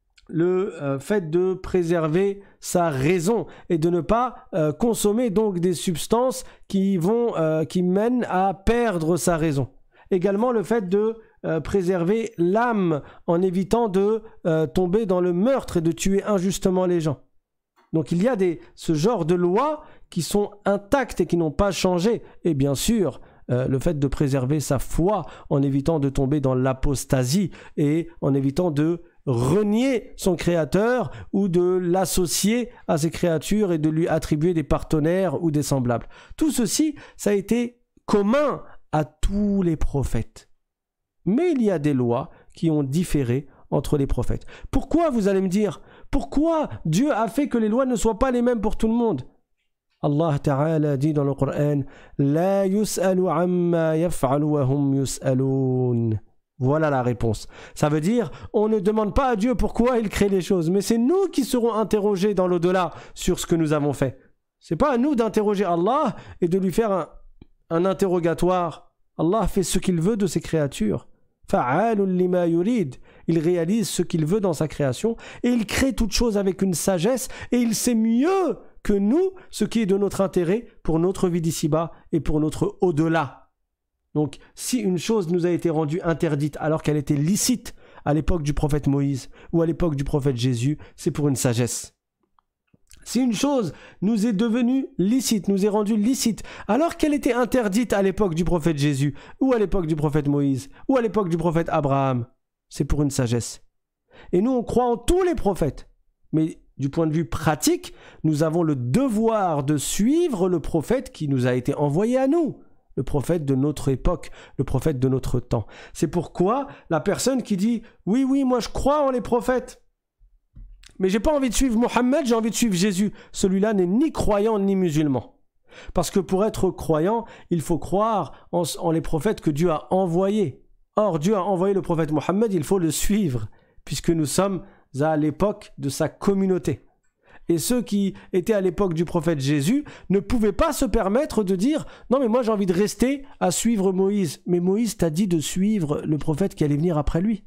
le euh, fait de préserver sa raison et de ne pas euh, consommer donc des substances qui vont euh, qui mènent à perdre sa raison. Également le fait de euh, préserver l'âme en évitant de euh, tomber dans le meurtre et de tuer injustement les gens. Donc il y a des ce genre de lois qui sont intactes et qui n'ont pas changé. Et bien sûr, euh, le fait de préserver sa foi en évitant de tomber dans l'apostasie et en évitant de renier son créateur ou de l'associer à ses créatures et de lui attribuer des partenaires ou des semblables. Tout ceci, ça a été commun à tous les prophètes. Mais il y a des lois qui ont différé entre les prophètes. Pourquoi, vous allez me dire, pourquoi Dieu a fait que les lois ne soient pas les mêmes pour tout le monde? Allah Ta'ala dit dans le Coran « La yus'alu amma yaf'alu wa hum yus'alun » Voilà la réponse. Ça veut dire, on ne demande pas à Dieu pourquoi il crée les choses, mais c'est nous qui serons interrogés dans l'au-delà sur ce que nous avons fait. C'est pas à nous d'interroger Allah et de lui faire un, un interrogatoire. Allah fait ce qu'il veut de ses créatures. Fa'alun lima yurid. Il réalise ce qu'il veut dans sa création et il crée toute chose avec une sagesse et il sait mieux que nous ce qui est de notre intérêt pour notre vie d'ici-bas et pour notre au-delà. Donc, si une chose nous a été rendue interdite alors qu'elle était licite à l'époque du prophète Moïse ou à l'époque du prophète Jésus, c'est pour une sagesse. Si une chose nous est devenue licite, nous est rendue licite alors qu'elle était interdite à l'époque du prophète Jésus ou à l'époque du prophète Moïse ou à l'époque du prophète Abraham, c'est pour une sagesse. Et nous, on croit en tous les prophètes. Mais du point de vue pratique, nous avons le devoir de suivre le prophète qui nous a été envoyé à nous. Le prophète de notre époque, le prophète de notre temps. C'est pourquoi la personne qui dit « Oui, oui, moi je crois en les prophètes, mais j'ai pas envie de suivre Mohammed, j'ai envie de suivre Jésus », celui-là n'est ni croyant ni musulman. Parce que pour être croyant, il faut croire en, en les prophètes que Dieu a envoyés. Or, Dieu a envoyé le prophète Mohammed, il faut le suivre, puisque nous sommes à l'époque de sa communauté. Et ceux qui étaient à l'époque du prophète Jésus ne pouvaient pas se permettre de dire « Non mais moi j'ai envie de rester à suivre Moïse ». Mais Moïse t'a dit de suivre le prophète qui allait venir après lui.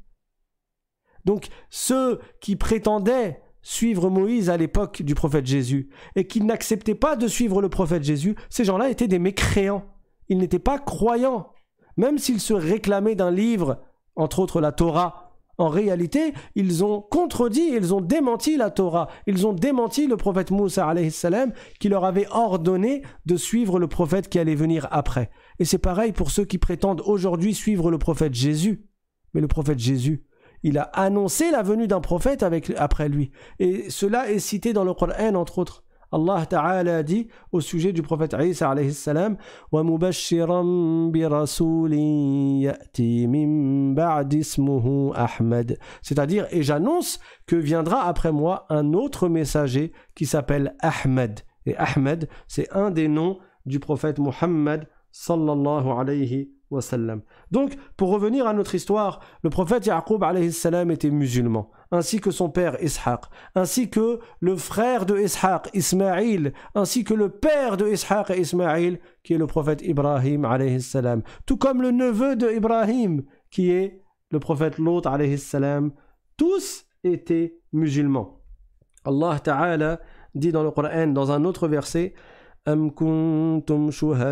Donc ceux qui prétendaient suivre Moïse à l'époque du prophète Jésus et qui n'acceptaient pas de suivre le prophète Jésus, ces gens-là étaient des mécréants. Ils n'étaient pas croyants. Même s'ils se réclamaient d'un livre, entre autres la Torah, en réalité, ils ont contredit, ils ont démenti la Torah, ils ont démenti le prophète Moussa alayhi salam qui leur avait ordonné de suivre le prophète qui allait venir après. Et c'est pareil pour ceux qui prétendent aujourd'hui suivre le prophète Jésus. Mais le prophète Jésus, il a annoncé la venue d'un prophète avec, après lui. Et cela est cité dans le Coran, entre autres. Allah Ta'ala a dit au sujet du prophète Isa alayhi salam wa mubashiran bi rasulin ya'ti min ba'di ismuhu Ahmad, c'est-à-dire et j'annonce que viendra après moi un autre messager qui s'appelle Ahmed. Et Ahmed, c'est un des noms du prophète Muhammad sallallahu alayhi wa sallam. Donc, pour revenir à notre histoire, le prophète Yaqub alayhi salam était musulman, ainsi que son père Ishaq, ainsi que le frère de Ishaq, Ismaïl, ainsi que le père de Ishaq et Ismaïl, qui est le prophète Ibrahim alayhi salam, tout comme le neveu de Ibrahim, qui est le prophète Lot alayhi salam. Tous étaient musulmans. Allah Ta'ala dit dans le Coran, dans un autre verset, أم كنتم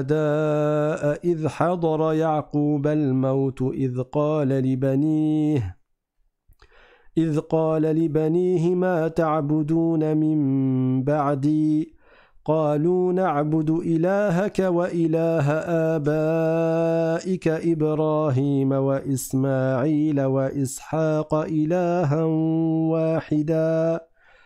شهداء إذ حضر يعقوب الموت إذ قال لبنيه إذ قال لبنيه ما تعبدون من بعدي قالوا نعبد إلهك وإله آبائك إبراهيم وإسماعيل وإسحاق إلها واحدا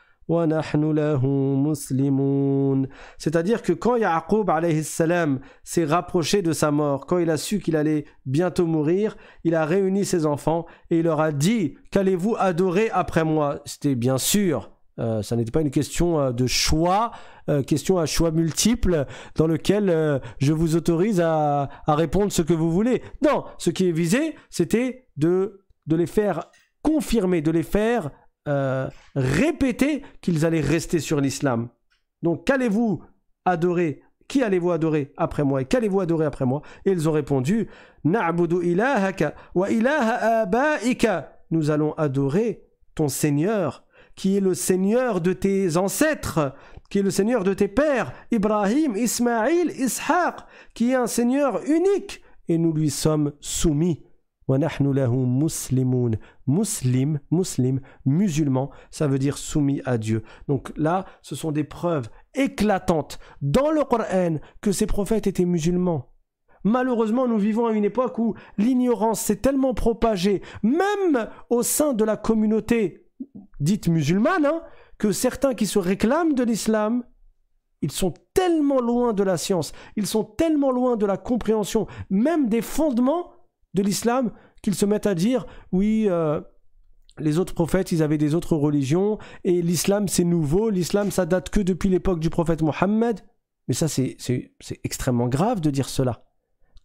C'est-à-dire que quand Yaqub alayhi salam s'est rapproché de sa mort, quand il a su qu'il allait bientôt mourir, il a réuni ses enfants et il leur a dit « Qu'allez-vous adorer après moi ?» C'était bien sûr, euh, ça n'était pas une question euh, de choix, euh, question à choix multiples dans lequel euh, je vous autorise à, à répondre ce que vous voulez. Non, ce qui est visé, c'était de, de les faire confirmer, de les faire Euh, répéter qu'ils allaient rester sur l'islam. Donc, qu'allez-vous adorer? Qui allez-vous adorer après moi? Et qu'allez-vous adorer après moi? Et ils ont répondu, Na'budu ilahaka wa ilaha abaika. Nous allons adorer ton Seigneur, qui est le Seigneur de tes ancêtres, qui est le Seigneur de tes pères, Ibrahim, Ismaïl, Ishaq, qui est un Seigneur unique, et nous lui sommes soumis. وَنَحْنُ لَهُ مُسْلِمُونَ. Muslim, muslim, musulman, ça veut dire soumis à Dieu. Donc là, ce sont des preuves éclatantes dans le Coran que ces prophètes étaient musulmans. Malheureusement, nous vivons à une époque où l'ignorance s'est tellement propagée, même au sein de la communauté dite musulmane, hein, que certains qui se réclament de l'islam, ils sont tellement loin de la science, ils sont tellement loin de la compréhension, même des fondements de l'islam, qu'ils se mettent à dire oui, euh, les autres prophètes ils avaient des autres religions et l'islam c'est nouveau, l'islam ça date que depuis l'époque du prophète Mohammed. Mais ça c'est, c'est, c'est extrêmement grave de dire cela.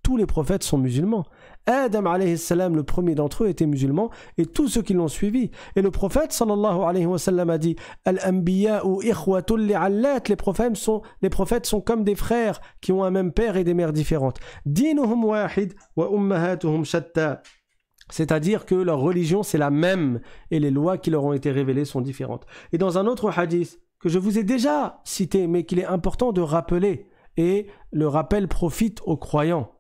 tous les prophètes sont musulmans. Adam alayhi salam, le premier d'entre eux, était musulman et tous ceux qui l'ont suivi. Et le prophète sallallahu alayhi wa sallam a dit Al-anbiya'u ikhwatul li'allat, les prophètes sont les prophètes sont comme des frères qui ont un même père et des mères différentes. Dinuhum wahid wa ummahatuhum shatta. C'est-à-dire que leur religion c'est la même et les lois qui leur ont été révélées sont différentes. Et dans un autre hadith que je vous ai déjà cité mais qu'il est important de rappeler, et le rappel profite aux croyants.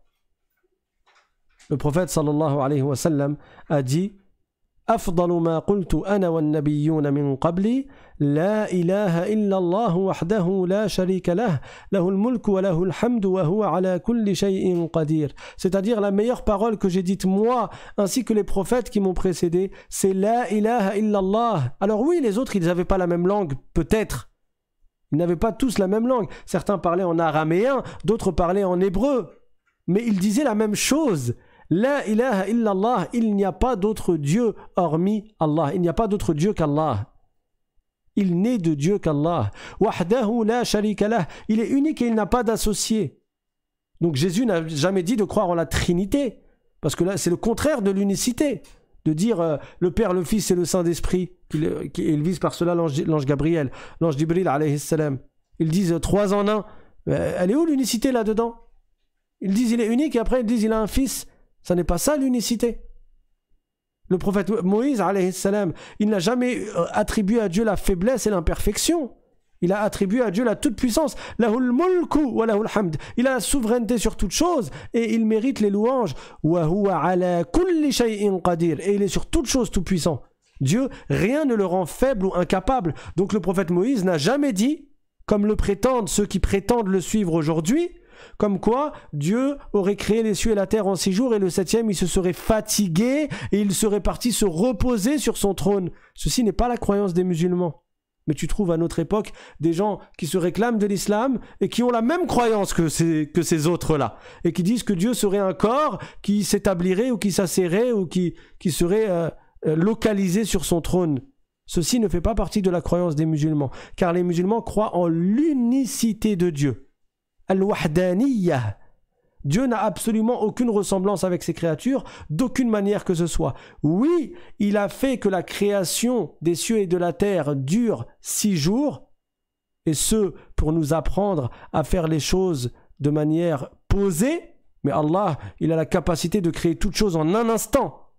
Le prophète sallallahu alayhi wa sallam a dit أفضل ما قلت أنا والنبيون من قبلي لا إله إلا الله وحده لا شريك له له الملك وله الحمد وهو على كل شيء قدير. C'est-à-dire la meilleure parole que j'ai dite moi ainsi que les prophètes qui m'ont précédé, c'est la ilaha illallah. Alors oui, les autres ils n'avaient pas la même langue, peut-être. Ils n'avaient pas tous la même langue. Certains parlaient en araméen, d'autres parlaient en hébreu. Mais ils disaient la même chose. La ilaha illallah, il n'y a pas d'autre Dieu hormis Allah. Il n'y a pas d'autre Dieu qu'Allah. Il n'est de Dieu qu'Allah. Wahdahu la sharika lah. Il est unique et il n'a pas d'associé. Donc Jésus n'a jamais dit de croire en la Trinité. Parce que là, c'est le contraire de l'unicité. De dire euh, le Père, le Fils et le Saint-Esprit. Qu'il, qu'il vise par cela l'ange, l'ange Gabriel, l'ange Jibril alayhi salam. Ils disent euh, trois en un. Euh, elle est où l'unicité là-dedans? Ils disent il est unique et après ils disent il a un fils. Ça n'est pas ça l'unicité. Le prophète Moïse, alayhi salam, il n'a jamais attribué à Dieu la faiblesse et l'imperfection. Il a attribué à Dieu la toute-puissance. Lahul mulku wa lahul hamd. Il a la souveraineté sur toute chose et il mérite les louanges. Wa huwa ala kulli shay'in qadir. Et il est sur toute chose tout-puissant. Dieu, rien ne le rend faible ou incapable. Donc le prophète Moïse n'a jamais dit, comme le prétendent ceux qui prétendent le suivre aujourd'hui, comme quoi Dieu aurait créé les cieux et la terre en six jours et le septième il se serait fatigué et il serait parti se reposer sur son trône. Ceci n'est pas la croyance des musulmans. Mais tu trouves à notre époque des gens qui se réclament de l'islam et qui ont la même croyance que ces, que ces autres-là et qui disent que Dieu serait un corps qui s'établirait ou qui s'asserrait ou qui, qui serait euh, localisé sur son trône. Ceci ne fait pas partie de la croyance des musulmans car les musulmans croient en l'unicité de Dieu. Al-Wahdaniyah. Dieu n'a absolument aucune ressemblance avec ses créatures, d'aucune manière que ce soit. Oui, il a fait que la création des cieux et de la terre dure six jours, et ce, pour nous apprendre à faire les choses de manière posée, mais Allah, il a la capacité de créer toute chose en un instant.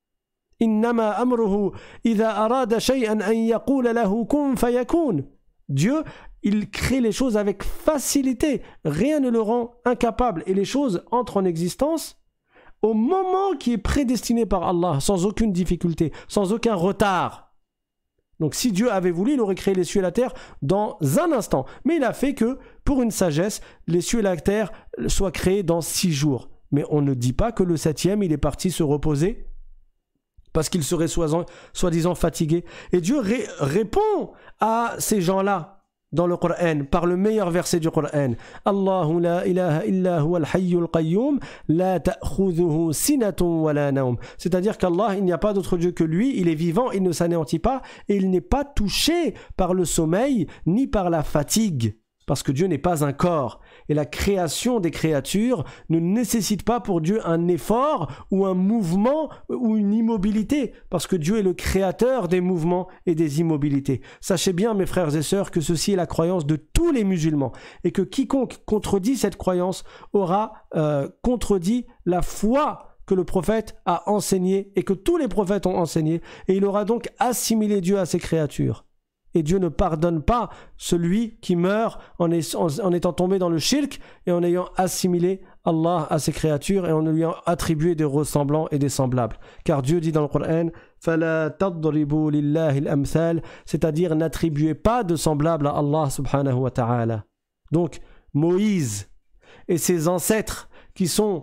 Innama amruhu idha arada shay'an an yaqula lahu kun fayakun. Dieu, il crée les choses avec facilité. Rien ne le rend incapable. Et les choses entrent en existence au moment qui est prédestiné par Allah, sans aucune difficulté, sans aucun retard. Donc si Dieu avait voulu, il aurait créé les cieux et la terre dans un instant. Mais il a fait que, pour une sagesse, les cieux et la terre soient créés dans six jours. Mais on ne dit pas que le septième, il est parti se reposer parce qu'il serait soi-disant fatigué. Et Dieu ré- répond à ces gens-là dans le Coran, par le meilleur verset du Coran. Allahu la ilaha illa huwa al-hayyul qayyum, la ta'khudhuhu sinatun wa la nawm. C'est-à-dire qu'Allah, il n'y a pas d'autre Dieu que lui, il est vivant, il ne s'anéantit pas, et il n'est pas touché par le sommeil, ni par la fatigue. Parce que Dieu n'est pas un corps. Et la création des créatures ne nécessite pas pour Dieu un effort ou un mouvement ou une immobilité. Parce que Dieu est le créateur des mouvements et des immobilités. Sachez bien, mes frères et sœurs, que ceci est la croyance de tous les musulmans. Et que quiconque contredit cette croyance aura euh, contredit la foi que le prophète a enseignée et que tous les prophètes ont enseigné. Et il aura donc assimilé Dieu à ses créatures. Et Dieu ne pardonne pas celui qui meurt en, est, en, en étant tombé dans le shirk et en ayant assimilé Allah à ses créatures et en lui ayant attribué des ressemblants et des semblables. Car Dieu dit dans le Coran فَلَا تَضْرِبُوا لِلَّهِ الْأَمْثَالِ, c'est-à-dire n'attribuez pas de semblables à Allah subhanahu wa ta'ala. Donc Moïse et ses ancêtres qui sont,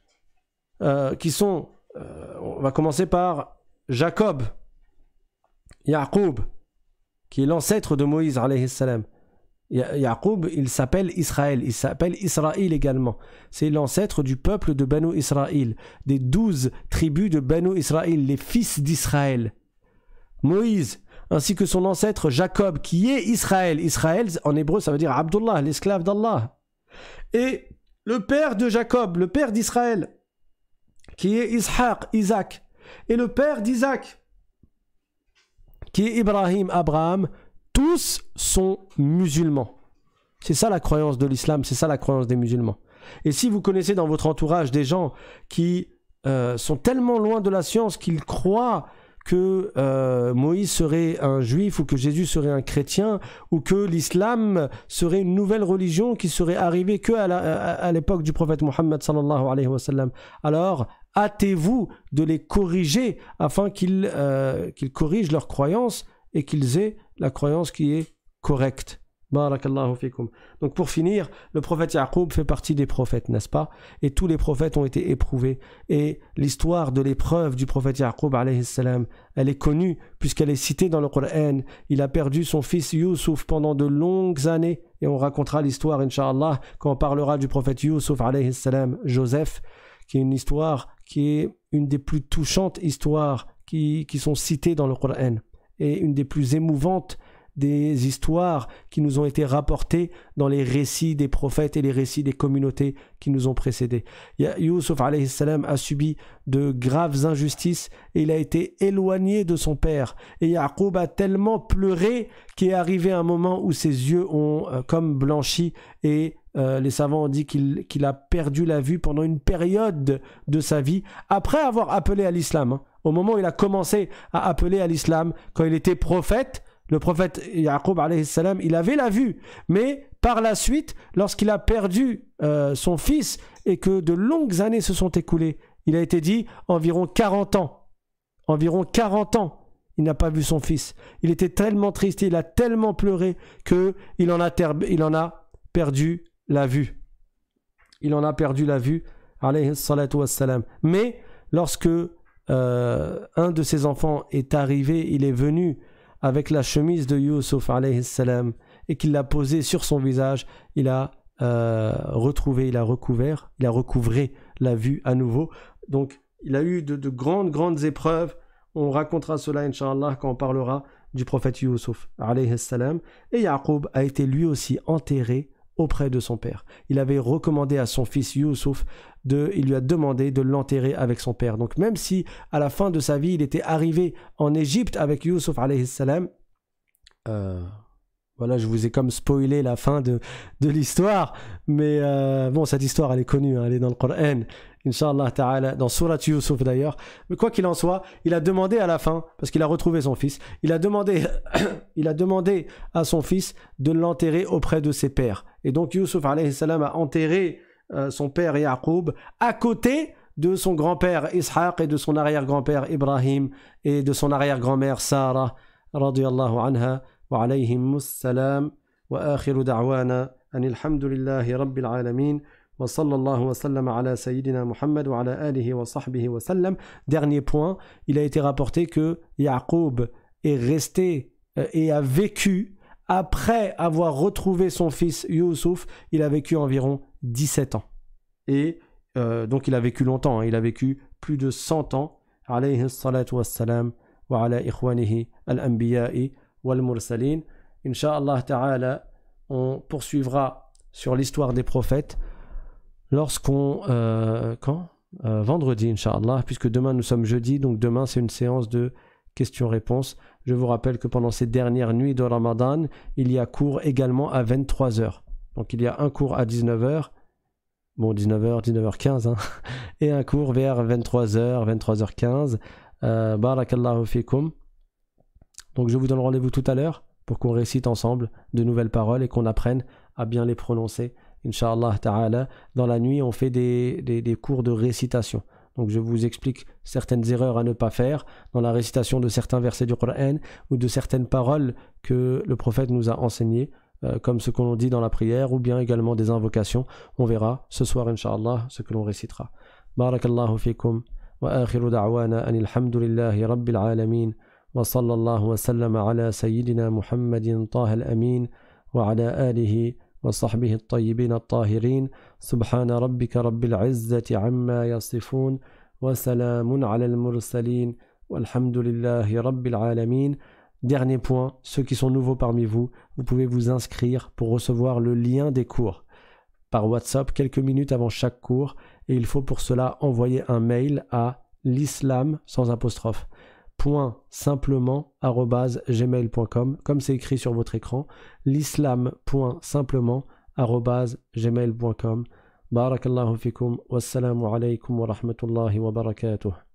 euh, qui sont euh, on va commencer par Jacob, Yaqub, qui est l'ancêtre de Moïse, alayhi salam. Ya- Yaqub, il s'appelle Israël, il s'appelle Israël également. C'est l'ancêtre du peuple de Banu Israël, des douze tribus de Banu Israël, les fils d'Israël. Moïse, ainsi que son ancêtre Jacob, qui est Israël. Israël, en hébreu, ça veut dire Abdullah, l'esclave d'Allah. Et le père de Jacob, le père d'Israël, qui est Ishaq, Isaac, et le père d'Isaac, qui est Ibrahim, Abraham, tous sont musulmans. C'est ça la croyance de l'islam, c'est ça la croyance des musulmans. Et si vous connaissez dans votre entourage des gens qui euh, sont tellement loin de la science qu'ils croient que euh, Moïse serait un juif ou que Jésus serait un chrétien ou que l'islam serait une nouvelle religion qui serait arrivée que à, la, à, à l'époque du prophète Mohammed sallallahu alayhi wa sallam, alors hâtez-vous de les corriger afin qu'ils, euh, qu'ils corrigent leurs croyances et qu'ils aient la croyance qui est correcte. Barakallahu fikum. Donc pour finir, le prophète Yaqub fait partie des prophètes, n'est-ce pas? Et tous les prophètes ont été éprouvés. Et l'histoire de l'épreuve du prophète Yaqub, alayhi salam, elle est connue puisqu'elle est citée dans le Coran. Il a perdu son fils Youssouf pendant de longues années. Et on racontera l'histoire, Inch'Allah, quand on parlera du prophète Youssouf, alayhi salam, Joseph, qui est une histoire qui est une des plus touchantes histoires qui, qui sont citées dans le Coran. Et une des plus émouvantes des histoires qui nous ont été rapportées dans les récits des prophètes et les récits des communautés qui nous ont précédés. Youssouf alayhi salam a subi de graves injustices et il a été éloigné de son père. Et Yaqub a tellement pleuré qu'il est arrivé un moment où ses yeux ont euh, comme blanchi et euh, les savants ont dit qu'il, qu'il a perdu la vue pendant une période de sa vie après avoir appelé à l'islam. Hein. Au moment où il a commencé à appeler à l'islam, quand il était prophète, le prophète Yaqub alayhi salam, il avait la vue, mais par la suite, lorsqu'il a perdu euh, son fils et que de longues années se sont écoulées, il a été dit environ quarante ans. Environ quarante ans, il n'a pas vu son fils. Il était tellement triste, il a tellement pleuré qu'il en a, ter- il en a perdu la vue. Il en a perdu la vue, alayhi salatu wassalam. Mais lorsque euh, un de ses enfants est arrivé, il est venu avec la chemise de Youssouf alayhi salam et qu'il l'a posée sur son visage, il a euh, retrouvé, il a recouvert, il a recouvré la vue à nouveau. Donc il a eu de, de grandes, grandes épreuves. On racontera cela, Inch'Allah, quand on parlera du prophète Youssouf alayhi salam. Et Yaqub a été lui aussi enterré auprès de son père. Il avait recommandé à son fils Youssouf, de, il lui a demandé de l'enterrer avec son père. Donc même si à la fin de sa vie, il était arrivé en Égypte avec Youssouf alayhi salam, euh, voilà, je vous ai comme spoilé la fin de, de l'histoire, mais euh, bon, cette histoire, elle est connue, hein, elle est dans le Coran, Inch'Allah ta'ala, dans Surat Youssouf d'ailleurs. Mais quoi qu'il en soit, il a demandé à la fin, parce qu'il a retrouvé son fils, il a demandé, il a demandé à son fils de l'enterrer auprès de ses pères. Et donc Youssouf alayhi salam a enterré euh, son père Yaqub à côté de son grand-père Ishaq et de son arrière-grand-père Ibrahim et de son arrière-grand-mère Sarah, radiyallahu anha, wa alayhim salam, wa akhiru da'wana, anilhamdulillahi rabbil alamin. Dernier point, il a été rapporté que Yaqub est resté euh, et a vécu après avoir retrouvé son fils Youssouf, il a vécu environ dix-sept ans. Et euh, donc il a vécu longtemps, hein, il a vécu plus de cent ans. Alayhi salatu wassalam wa ala ikhwanihi al-anbiya'i wal mursalin. Inch'Allah ta'ala, on poursuivra sur l'histoire des prophètes lorsqu'on... Euh, quand euh, Vendredi, Inch'Allah, puisque demain nous sommes jeudi, donc demain c'est une séance de questions-réponses. Je vous rappelle que pendant ces dernières nuits de Ramadan, il y a cours également à vingt-trois heures. Donc il y a un cours à dix-neuf heures, bon dix-neuf heures, dix-neuf heures quinze, hein, et un cours vers vingt-trois heures, vingt-trois heures quinze. Euh, Barakallahu fikum. Donc je vous donne rendez-vous tout à l'heure pour qu'on récite ensemble de nouvelles paroles et qu'on apprenne à bien les prononcer. Inch'Allah ta'ala, dans la nuit, on fait des, des, des cours de récitation. Donc je vous explique certaines erreurs à ne pas faire dans la récitation de certains versets du Coran ou de certaines paroles que le prophète nous a enseignées, euh, comme ce qu'on dit dans la prière, ou bien également des invocations. On verra ce soir, Inch'Allah, ce que l'on récitera. Barakallahu fikum, wa akhiru da'wana anil hamdulillahi rabbil alamin, wa sallallahu wa sallama ala sayyidina Muhammadin taha al-amin, wa ala alihi وصحبه الطيبين الطاهرين سبحان ربك رب العزة عما يصفون وسلام على المرسلين والحمد لله رب العالمين. Dernier point, ceux qui sont nouveaux parmi vous, vous pouvez vous inscrire pour recevoir le lien des cours. par WhatsApp quelques minutes avant chaque cours et il faut pour cela envoyer un mail à l'islam sans apostrophe point simplement arobase gmail point com comme c'est écrit sur votre écran l'islam point simplement arobase gmail point com. Barakallahu fikum wassalamu alaykum wa rahmatullahi wa barakatuh.